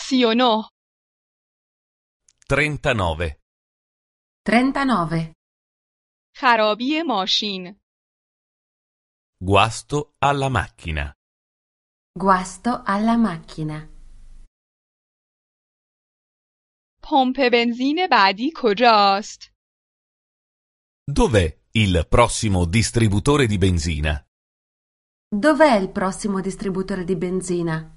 39 39. 39. خرابی ماشین Guasto alla macchina. Guasto alla macchina. پمپ بنزین بعدی کجاست؟ Dov'è il prossimo distributore di benzina? Dov'è il prossimo distributore di benzina?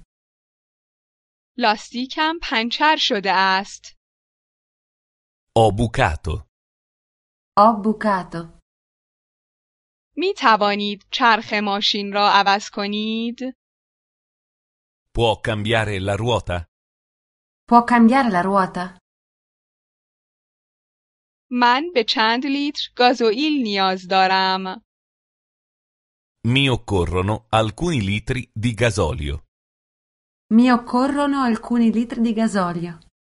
لاستیکم پنچر شده است. Ho bucato. Ho bucato. می توانید چرخ ماشین را عوض کنید؟ Può cambiare la ruota? Può cambiare la ruota? من به چند لیتر گازوئیل نیاز دارم. Mi occorrono alcuni litri di gasolio. Mi occorrono alcuni litri di gasolio.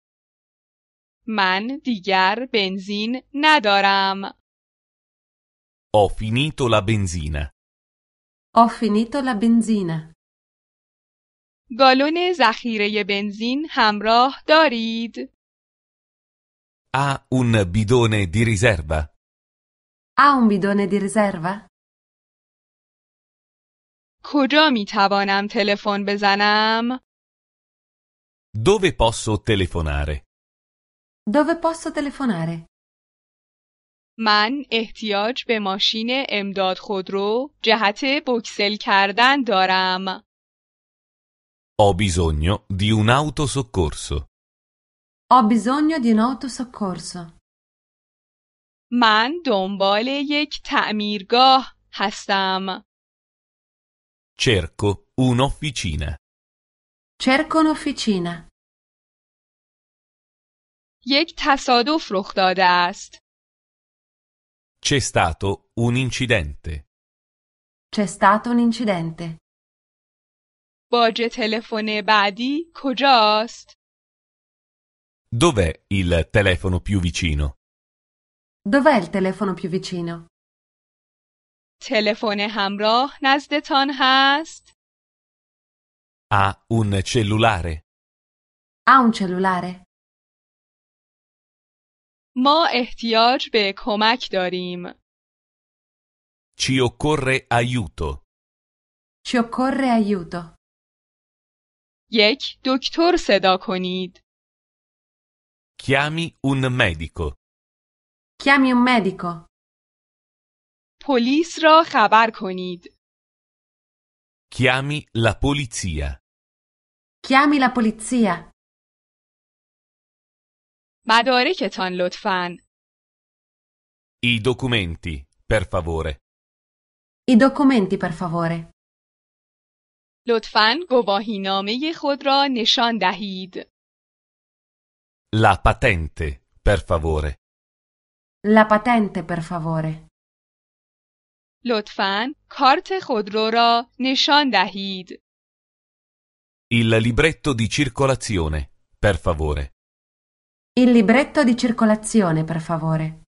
من دیگر بنزین ندارم. Ho finito la benzina. Ho finito la benzina. گالون ذخیره بنزین همراه دارید؟ Ha un bidone di riserva? Ha un bidone di riserva? کجا می توانم تلفن بزنم؟ Dove posso telefonare? Dove posso telefonare? من احتیاج به ماشین امداد خودرو جهت بوکسل کردن دارم. Ho bisogno di un'auto soccorso. Ho bisogno di un autosoccorso. من دنبال یک تعمیرگاه هستم. Cerco un'officina. Cerco un'officina. یک تصادف رخ داده است. C'è stato un incidente. C'è stato un incidente. باج تلفن بعدی کجاست؟ Dov'è il telefono più vicino? Dov'è il telefono più vicino? تلفن همراه نزدتان هست؟ Ha un cellulare? Ha un cellulare? ما احتیاج به کمک داریم. Ci occorre aiuto. Ci occorre aiuto. یک دکتر صدا کنید. Chiami un medico. Chiami un medico. پلیس را خبر کنید. Chiami la polizia. Chiami la polizia. مدارکتان لطفاً. I documenti, per favore. I documenti, per favore. لطفاً گواهینامه خود را نشان دهید. La patente, per favore. La patente, per favore. لطفاً کارت خودرو را نشان دهید. Il libretto di circolazione, per favore. Il libretto di circolazione, per favore.